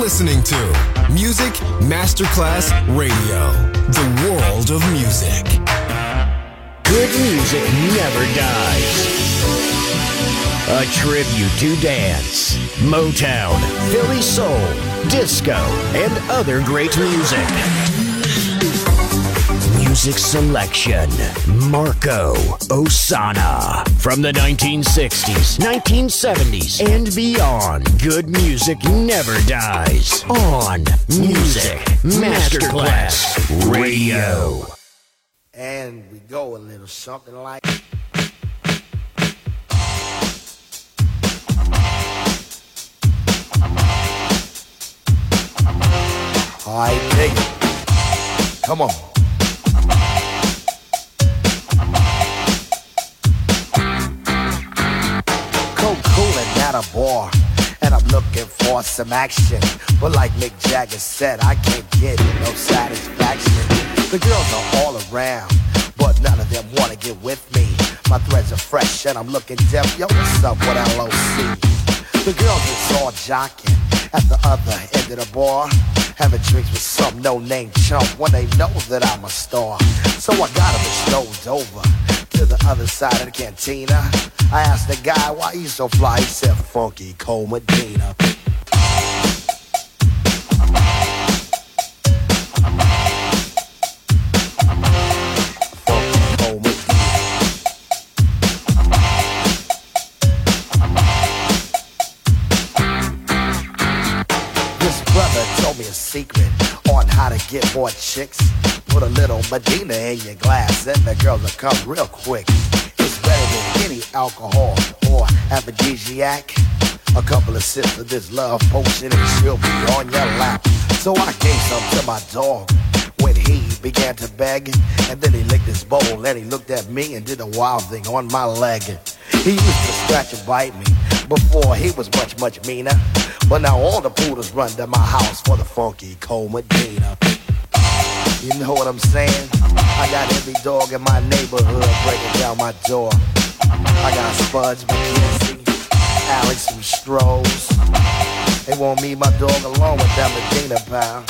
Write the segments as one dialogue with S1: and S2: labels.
S1: listening to Music Masterclass Radio, the world of music.
S2: Good music never dies. A tribute to dance, Motown, Philly soul, disco, and other great music. Music selection, Marco Ossanna. From the 1960s, 1970s, and beyond, good music never dies. On Music Masterclass Radio.
S3: And we go a little something like... Alright, dig it. Come on. Coolin' at a bar, and I'm looking for some action. But like Mick Jagger said, I can't get no satisfaction. The girls are all around, but none of them wanna get with me. My threads are fresh and I'm looking deaf. Yo, what's up with LOC? The girls is all jocking at the other end of the bar, having drinks with some no-name chump when they know that I'm a star. So I got them strolled over to the other side of the cantina. I asked the guy why he's so fly. He said, Funky Cole Medina. Secret on how to get more chicks. Put a little Medina in your glass and the girls will come real quick. It's better than any alcohol or aphrodisiac. A couple of sips of this love potion and she'll be on your lap. So I gave some to my dog when he began to beg. And then he licked his bowl and he looked at me and did a wild thing on my leg. He used to scratch and bite me before he was much, much meaner. But now all the poodles run to my house for the Funky Cole Medina. You know what I'm saying? I got every dog in my neighborhood breaking down my door. I got Spuds, McKenzie, Alex, and Strohs. They want me, my dog, along with that Medina pal.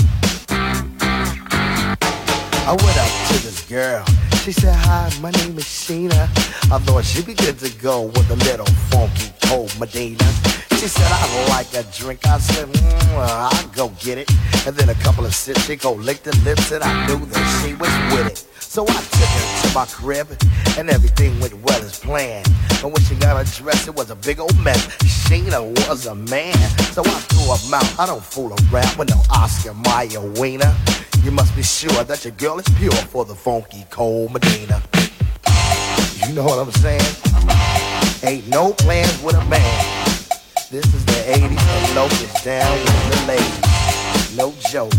S3: I went up to this girl. She said, hi, my name is Sheena. I thought she'd be good to go with a little Funky Cole Medina. She said, I'd like a drink. I said, I'll go get it. And then a couple of sips, she go lick the lips, and I knew that she was with it. So I took her to my crib, and everything went well as planned. And when she got her dress, it was a big old mess. Sheena was a man, so I threw her mouth. I don't fool around with no Oscar Mayer wiener. You must be sure that your girl is pure for the Funky Cole Medina. You know what I'm saying? Ain't no plans with a man. This is the 80s and Locust down with the ladies. No joke.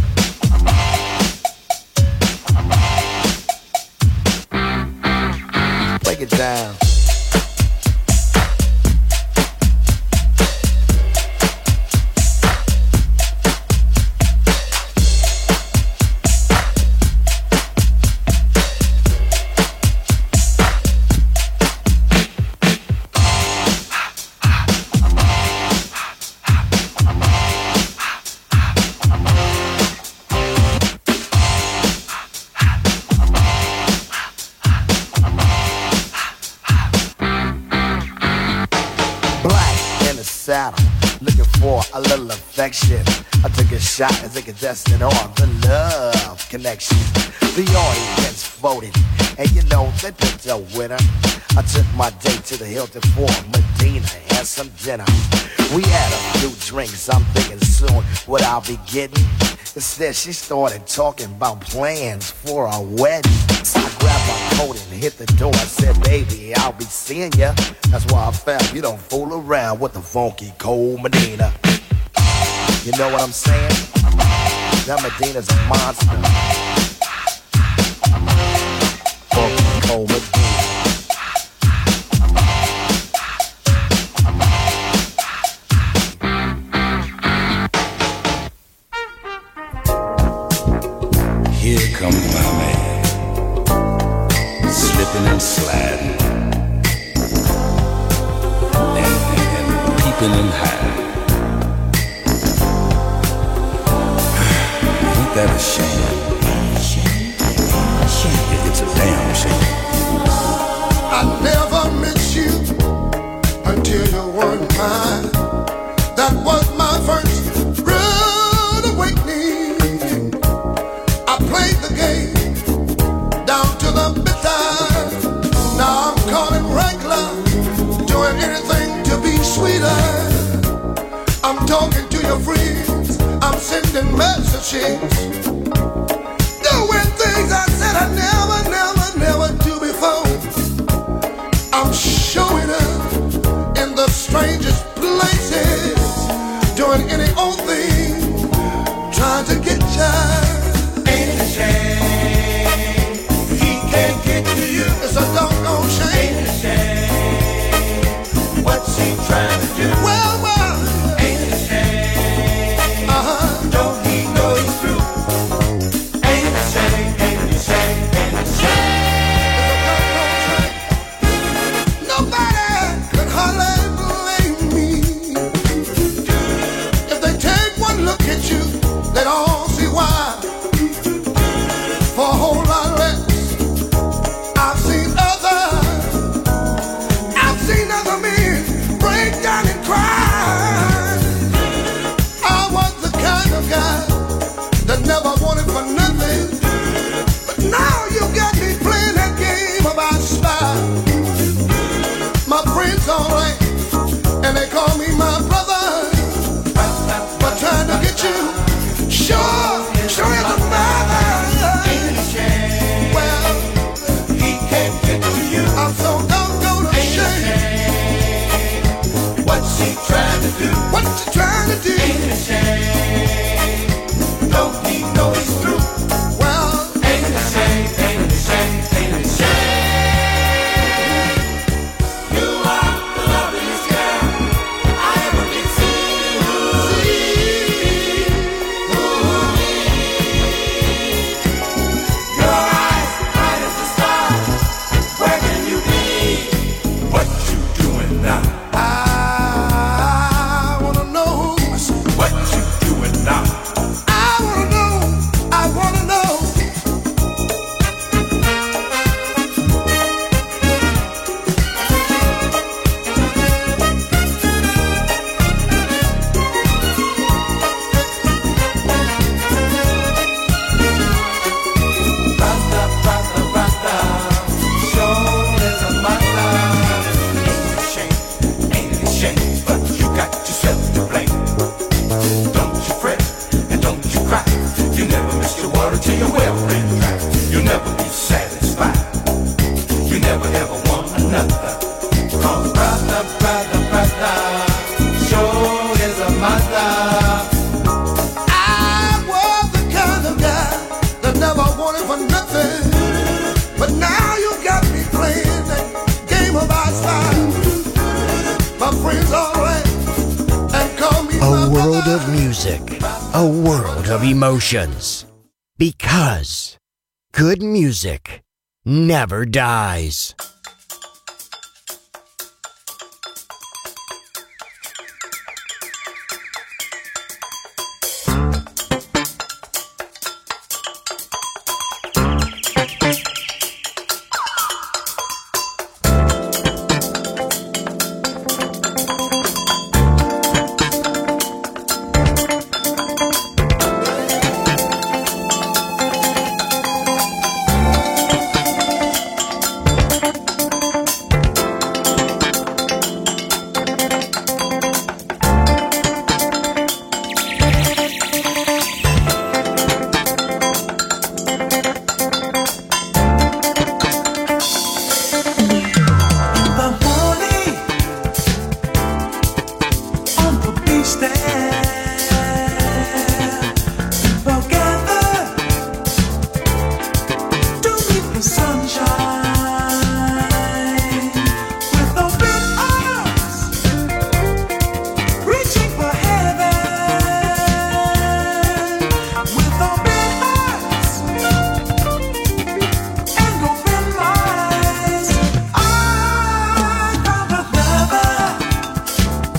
S3: Break it down. Looking for a little affection. I took a shot as a contestant on the Love Connection. The audience voted, and you know they picked a winner. I took my date to the Hilton for Medina and some dinner. We had a few drinks, I'm thinking soon what I'll be getting. Instead she started talking about plans for our wedding. So I grabbed my coat and hit the door. I said, baby, I'll be seeing ya. That's why I found you don't fool around with the Funky Cole Medina. You know what I'm saying? That Medina's a monster. Funky Cole Medina.
S4: Here comes my man, slipping and sliding, and peeping and hiding. that a shame? It's a damn shame.
S5: I never met you until you weren't mine. That was my first rude awakening. I played the game down to the bitter. Now I'm calling regular, doing anything to be sweeter. I'm talking to your friends, I'm sending messages, doing things I said I never do before. I'm showing up in the strangest places, doing any old thing, trying to get you. Ain't it a shame he can't get to you? It's a doggone shame. Ain't it a shame what's he trying to do? Well, ain't it a shame? Don't he know he's through? Ain't it a shame? Ain't it a shame? Ain't it a shame? Nobody could hardly blame me. If they take one look at you, they'd all see why. For a whole lot less, I've seen other men break down and cry. I was the kind of guy that never wanted for nothing, but now you got me playing that game about style. My friends all right, and they call me my brother, but trying to get you, sure is a matter. Well, he can't get to you. I'm so doggone ashamed. What's he trying to do? What you trying to do? Ain't it a shame? Don't he know he's through? Well, ain't it a shame? Ain't it a shame? Ain't it a shame? You are the loveliest girl I ever did see. Your eyes bright as the stars. Where can you be?
S4: What you doing now?
S5: I wanna know.
S4: What you doing now?
S5: I wanna know. I wanna know. Rasta, sure is a matter.
S4: Ain't it a shame? Ain't it a shame? But you got yourself to blame. Don't you fret and don't you cry. You never miss your water till your well ran dry. You'll never be satisfied. You never ever want another. Cause brother,
S5: Sure is a matter. I was the kind of guy that never wanted for nothing, but now you got me playing that game of our style. My friends all right and call me
S2: A
S5: my
S2: world
S5: brother.
S2: of music, a world of emotions. Because good music never dies.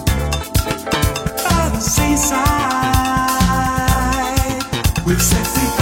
S5: with sexy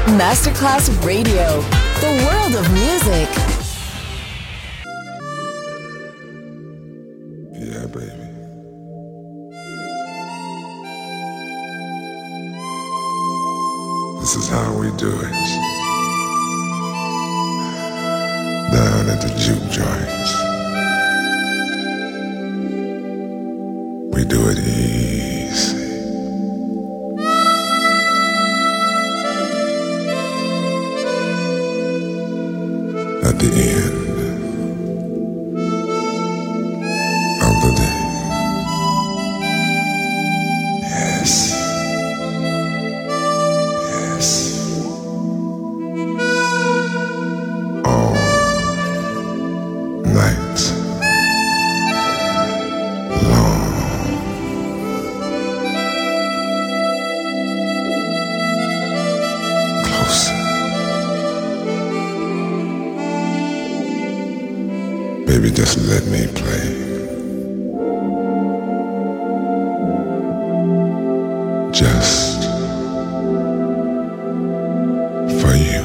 S6: Masterclass Radio, the world of music.
S5: Yeah, baby. This is how we do it. Down at the juke joints. We do it easy. At the end of the day. Yes. Yes. All night long. Closer. Baby, just let me play. Just for you.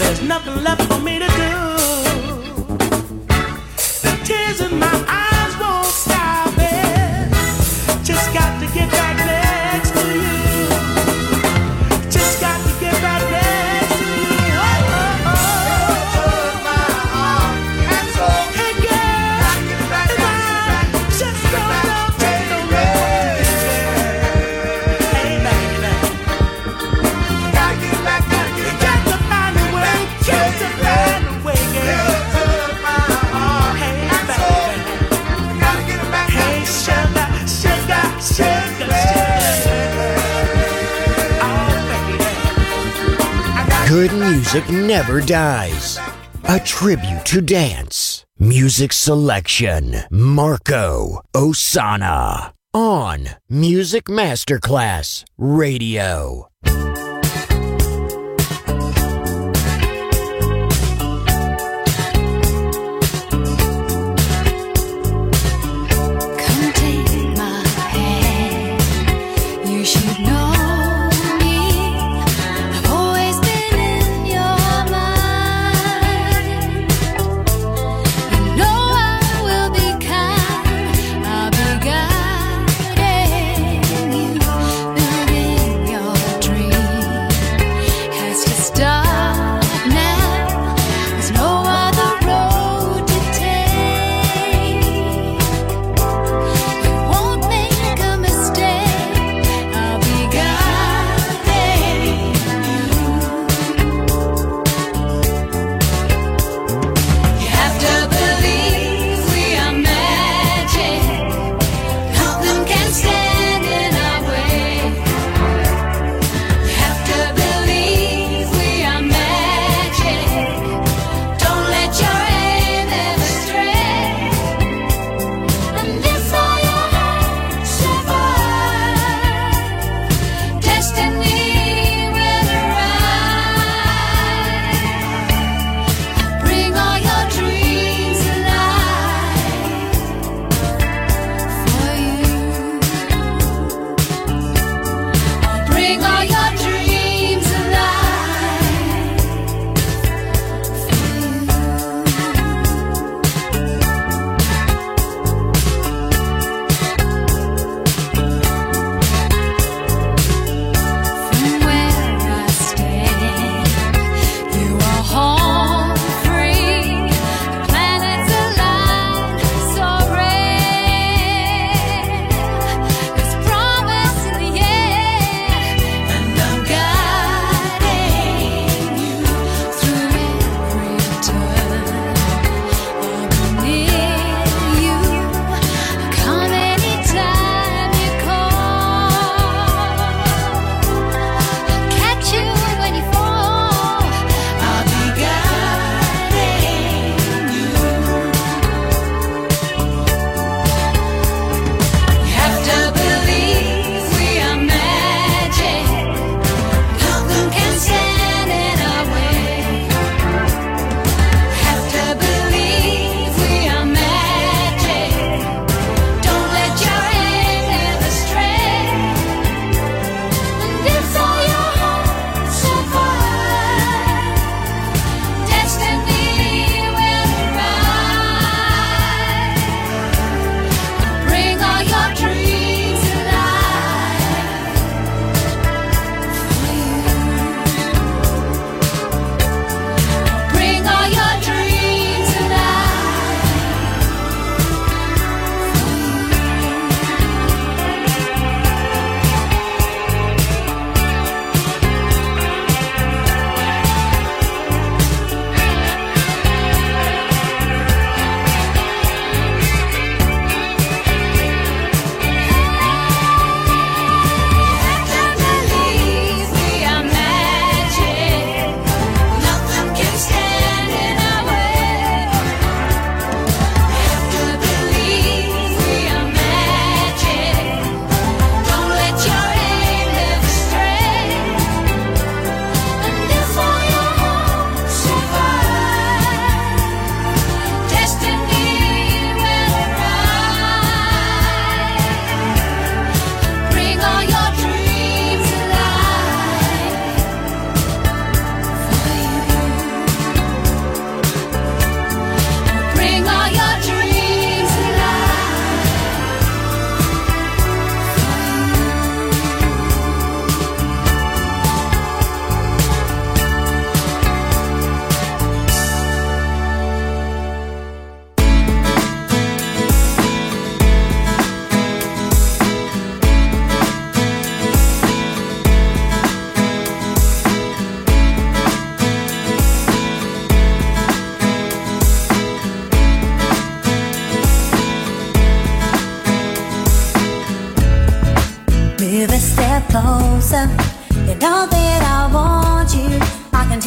S7: there's nothing left for me to do. The tears in my eyes won't stop it. Just got to get back next to you. Just got to get back next to you. Oh, oh, oh. Took my arm and so hey girl, just don't take the road. Hey baby, gotta get back, gotta get back. Got to find a way, got to find a way, girl. Took my arm hey baby, gotta get back. Hey sugar, sugar, sugar, sugar. Oh baby.
S2: Good music never dies. A tribute to dance. Music selection. Marco Ossanna. On Music Masterclass Radio.
S8: Come take my hand. You should know me. I've always been in your mind. You know I will be kind. I'll be guiding you, building your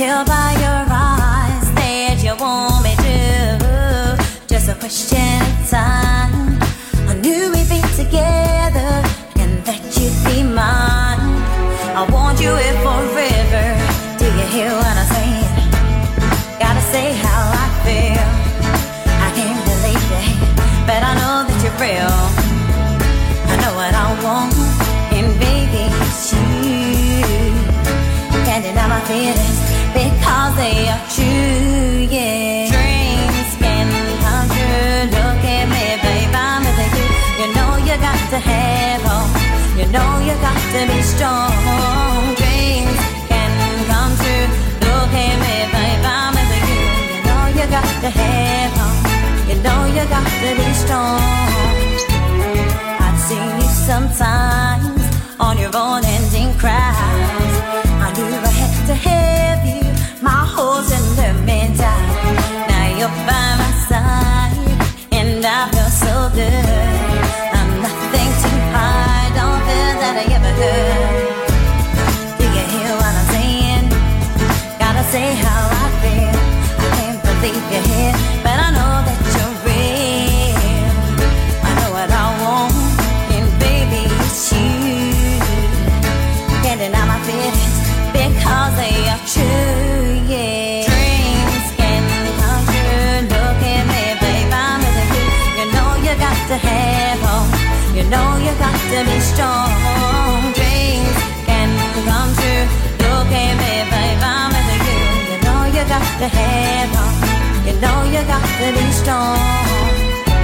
S9: tell by your eyes that you want me to. Just a question of time. I knew we'd be together and that you'd be mine. I want you here forever. Do you hear what I'm saying? Gotta say how I feel. I can't believe it, but I know that you're real. I know what I want, and baby, it's you. Can't deny my feelings because they are true, yeah. Dreams can come true. Look at me, babe, I'm with you. You know you got to have hope. You know you got to be strong. Dreams can come true. Look at me, babe, I'm with you. You know you got to have hope. You know you got to be strong. I've seen you sometimes on your own ending cries. I knew I had to have you. My horse and the man died. Now you're by my side, and I feel so good. I'm nothing to hide. Don't feel that I ever could. Do you hear what I'm saying? Gotta say how I feel. I can't believe you're here, but I know that you're real. I know what I want, and baby, it's you. Can't deny my feelings because they are true, yeah. Dreams can come true. Look at me, babe, I'm with you. You know you got to have hope. You know you got to be strong. Dreams can come true. Look at me, babe, I'm with you. You know you got to have hope. You know you got to be strong.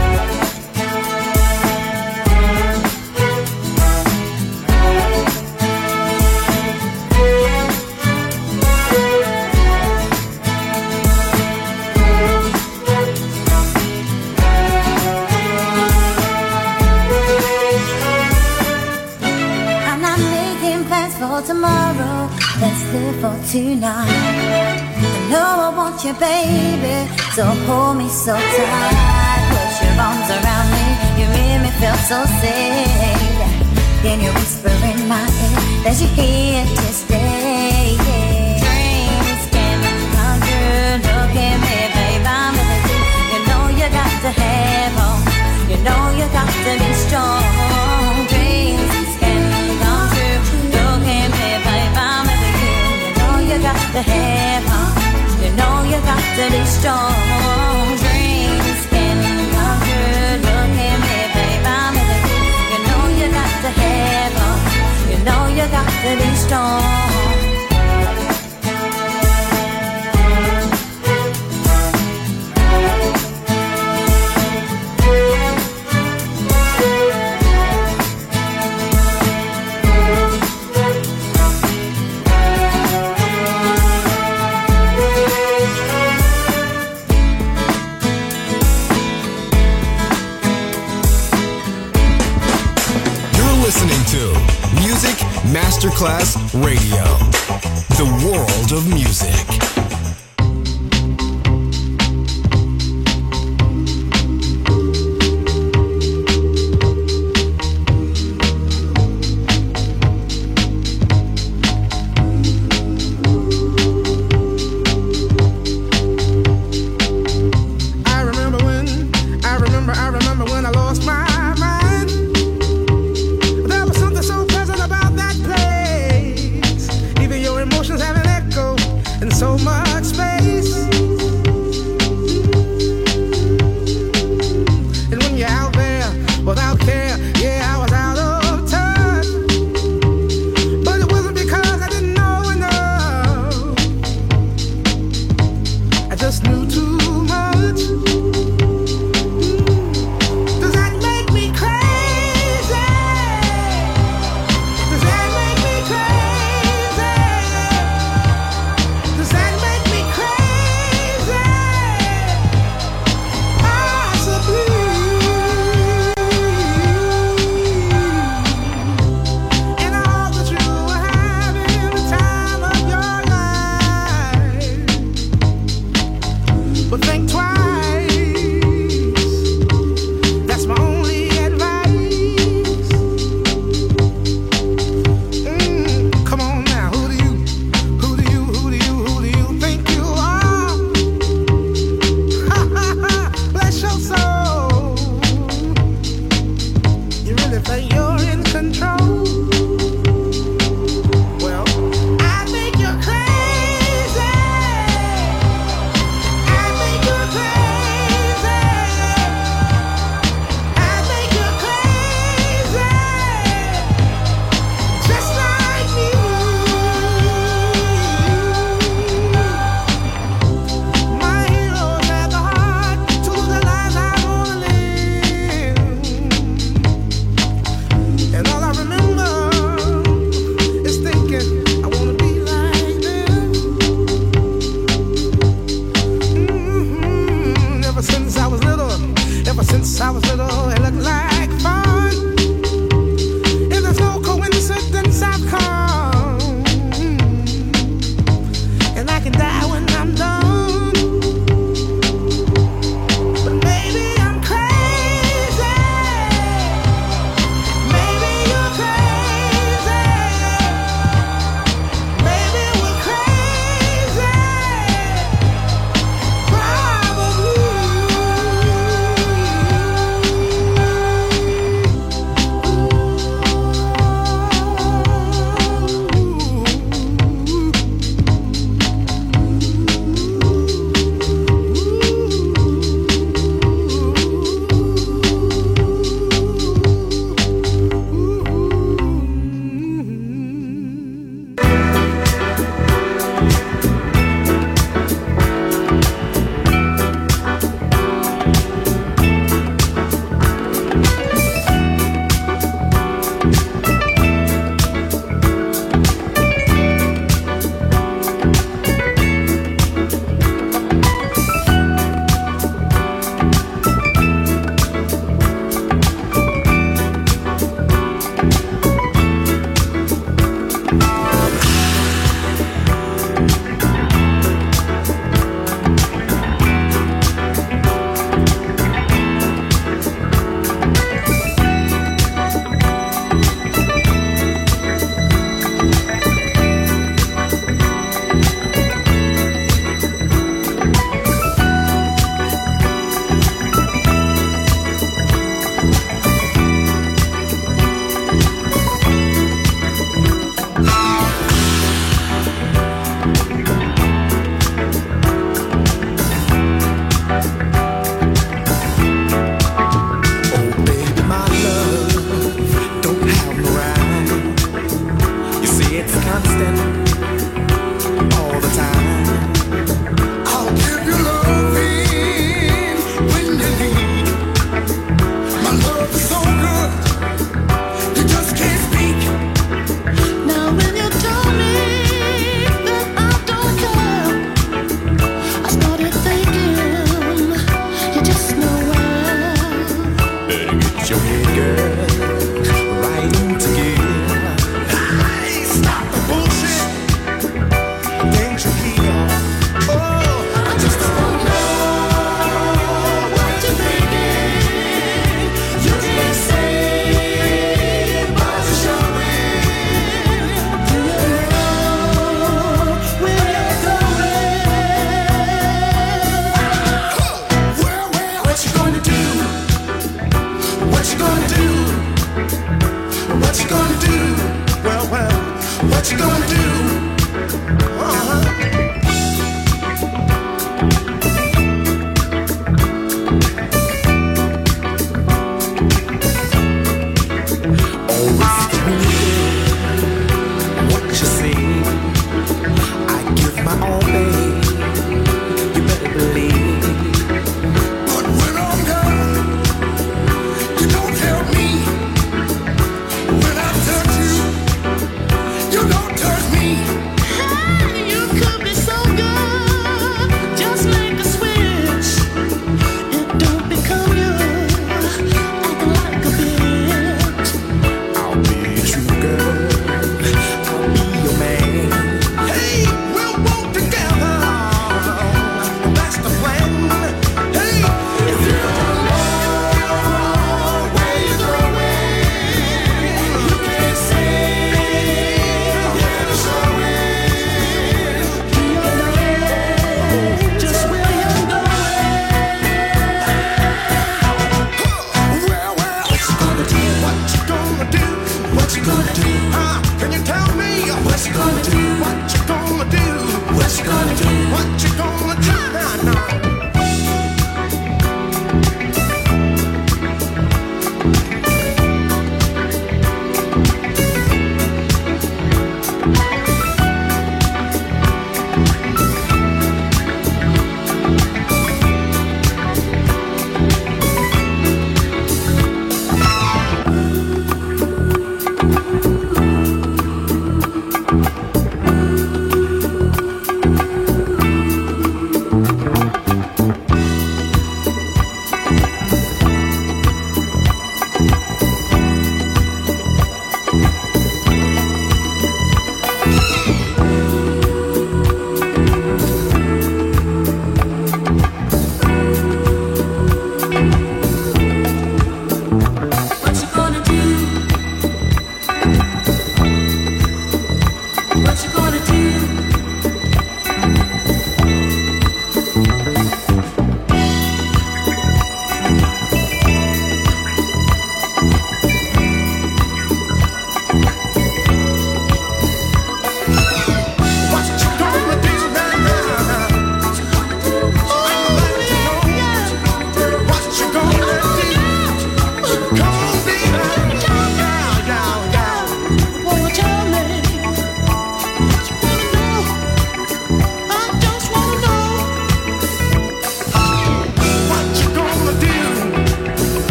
S9: For tomorrow, let's live for tonight. I know I want you, baby, so hold me so tight. Put your arms around me, you make me feel so safe. Then you whisper in my ear that you're here to stay, yeah. Dreams can come true. Look at me, babe, I'm with you. You know you got to have hope. You know you got to be strong. Dreams can come true. Look at me, babe, I'm with you. You know you got to have hope. You know you got to be strong. Dreams can come true. Look at me, babe, I'm with you. You know you got to have hope. You know you got to be strong.
S1: Listening to Music Masterclass Radio, the world of music.
S10: So much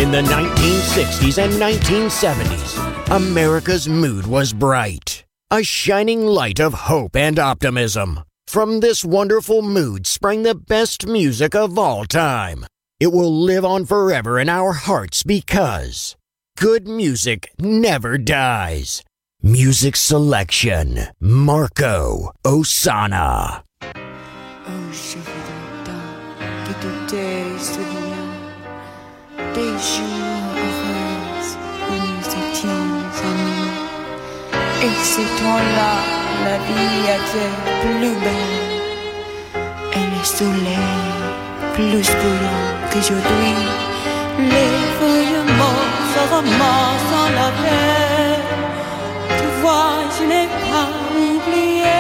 S2: In the 1960s and 1970s, America's mood was bright, a shining light of hope and optimism. From this wonderful mood sprang the best music of all time. It will live on forever in our hearts because good music never dies. Music selection, Marco Ossanna.
S10: Oh, je voudrais que tout est souvenir des jours heureux où nous étions amis. Et ce temps-là, la vie était plus belle et le soleil plus brillant qu'aujourd'hui. Les feuilles mortes se ramassent dans la terre. Tu vois, je n'ai pas oublié.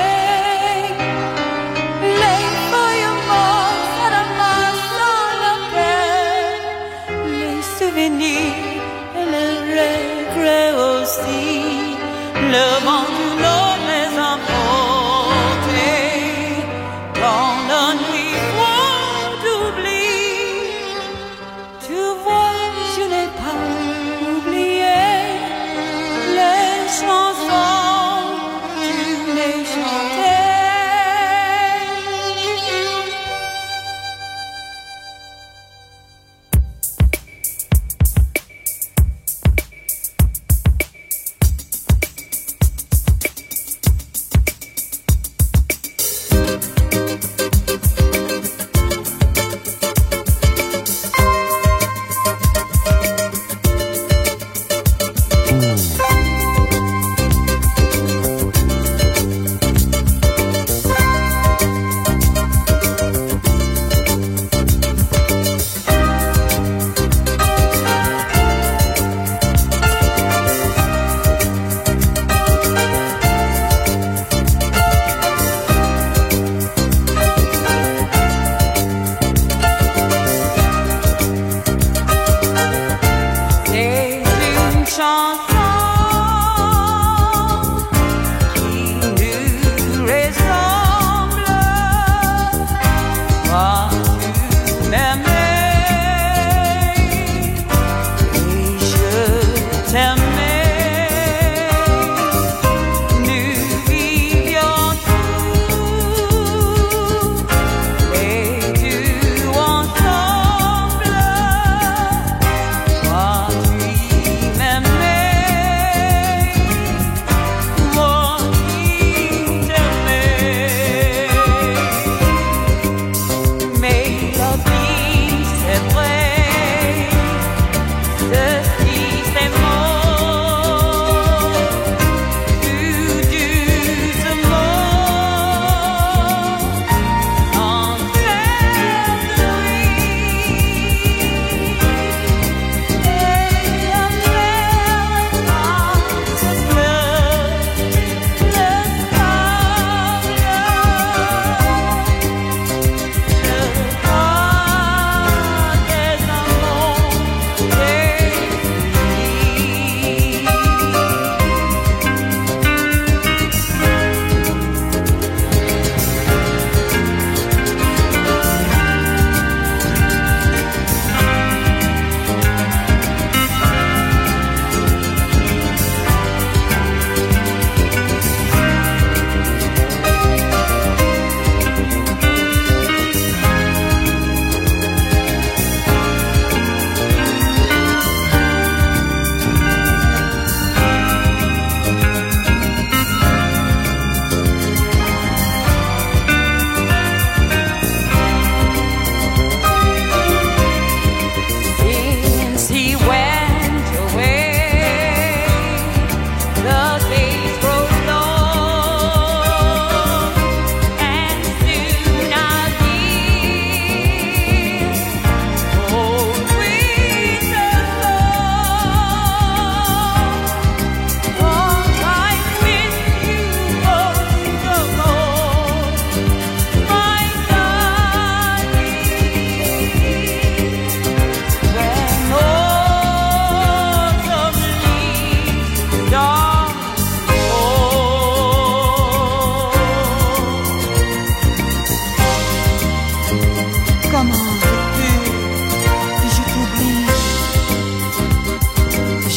S10: Les feuilles mortes se ramassent dans la terre. Les souvenirs et les regrets aussi. Le vent du nord les emporté dans la nuit froide d'oubli. Tu vois, je n'ai pas oublié les chansons que tu m'as chantées.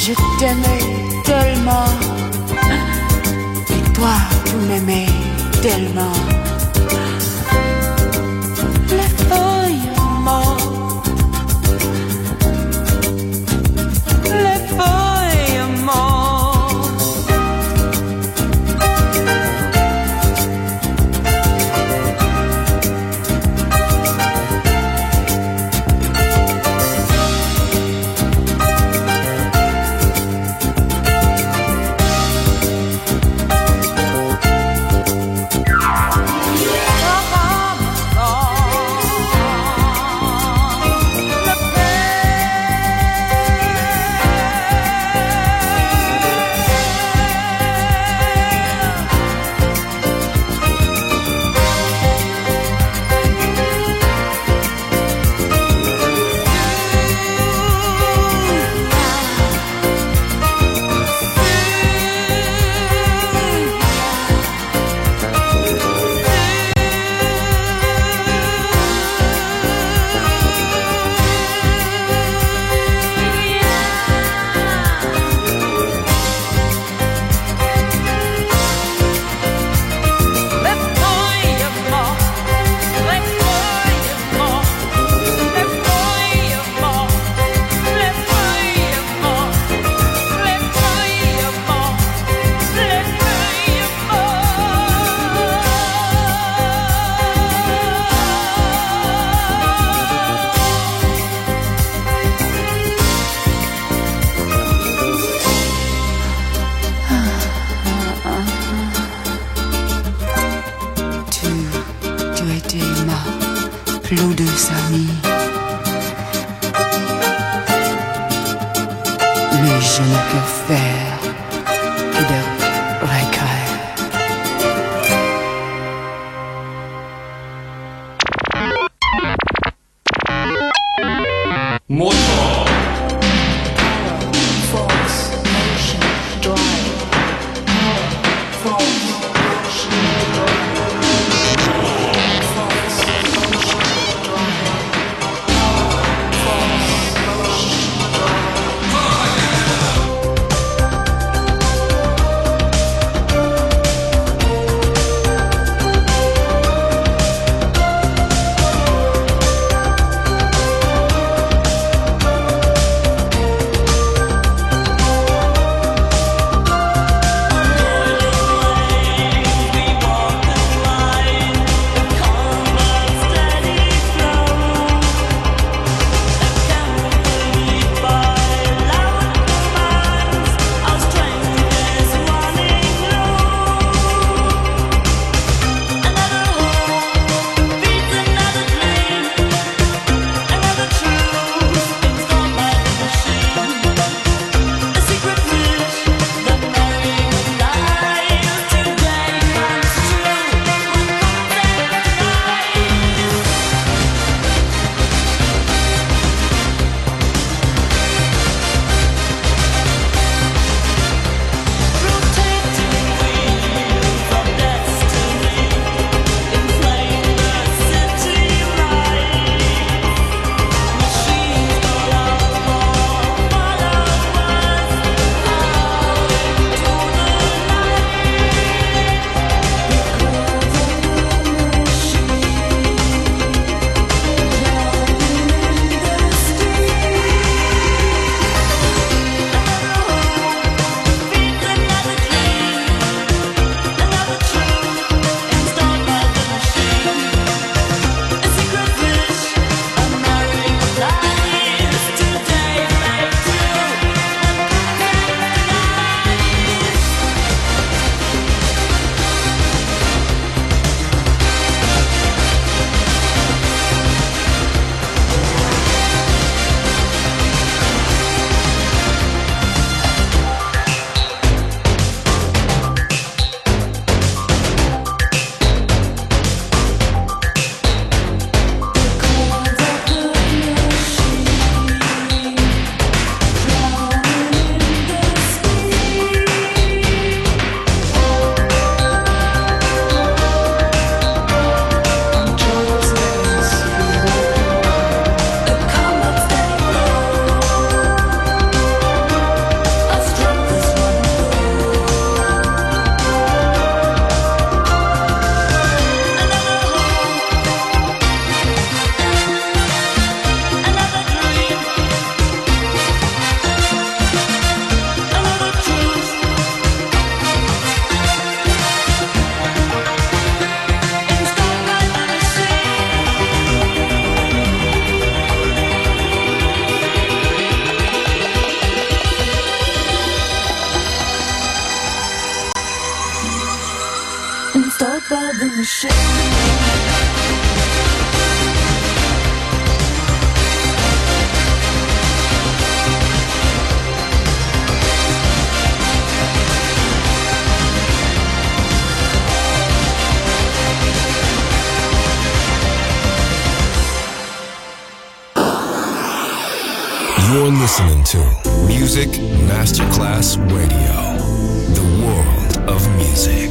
S11: Je t'aimais tellement, et toi, tu m'aimais tellement. Les feuilles mortes, les feuilles mortes. Plus douce amie. Mais je ne peux faire que de regret.
S12: Motor.
S11: Force, motion, drive. Force, motion,
S1: You're listening to Music Masterclass Radio, the world of music.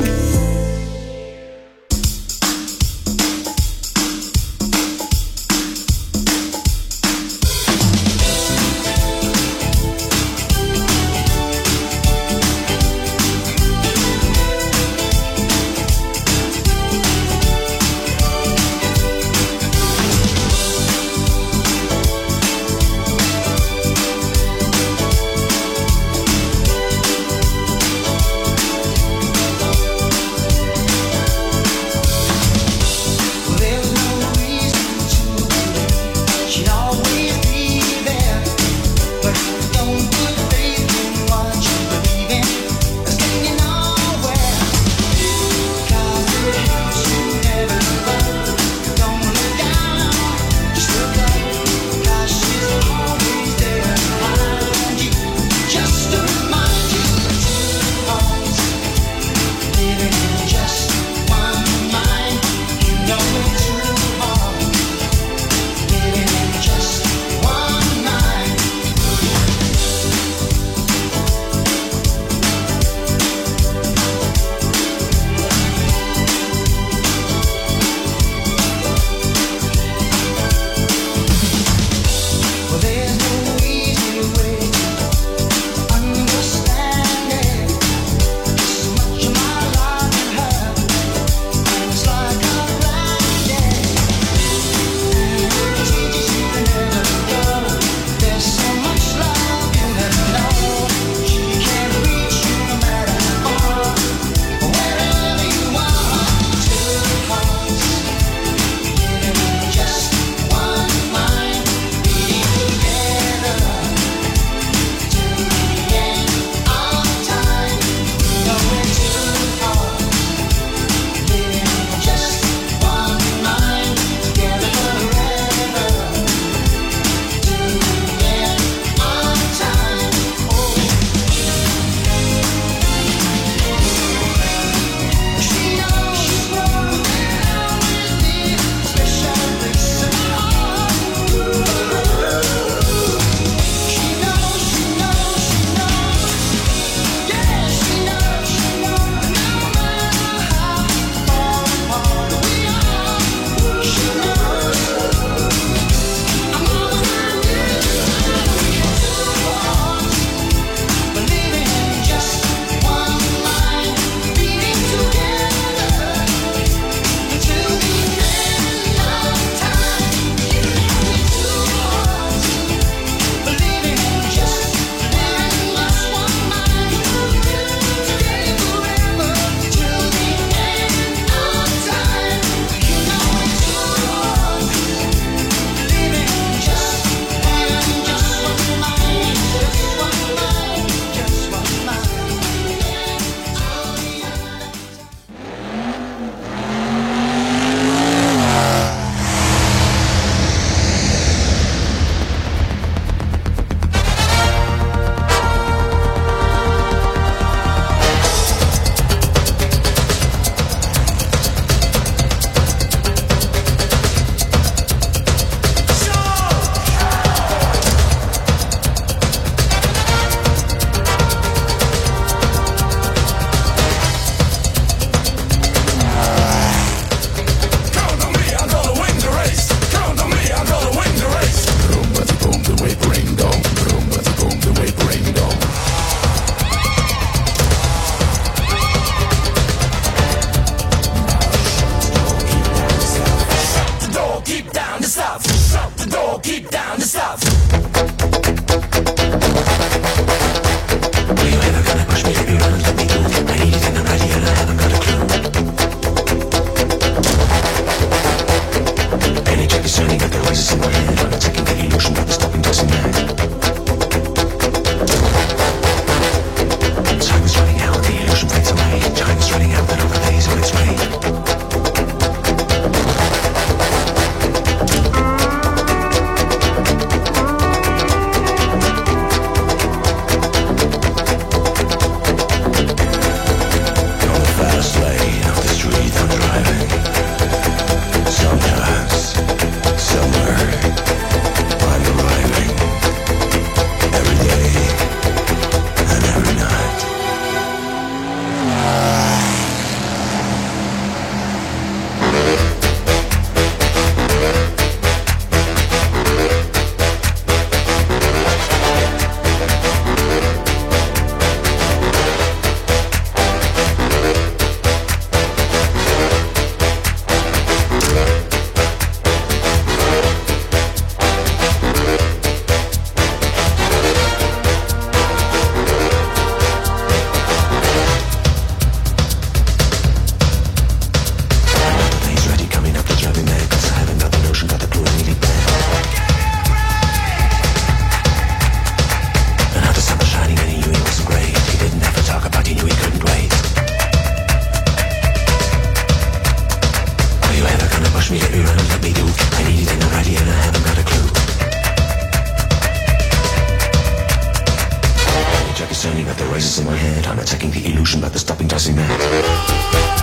S12: Showdown, attacking the illusion by the stopping tossing mat.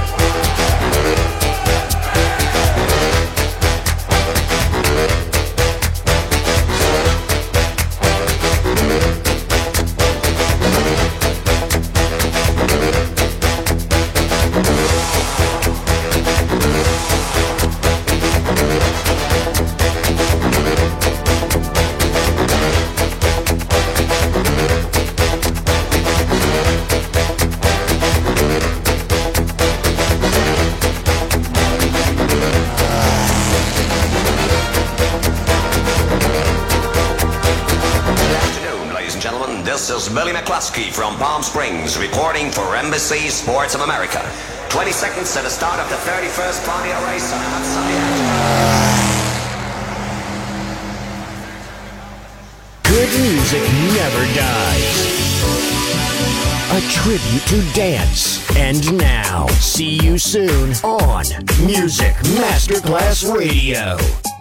S13: This is Billy McCluskey from Palm Springs reporting for NBC Sports of America. 20 seconds to the start of the 31st Pontiac race on a hot Sunday afternoon.
S2: Good music never dies. A tribute to dance. And now, see you soon on Music Masterclass Radio.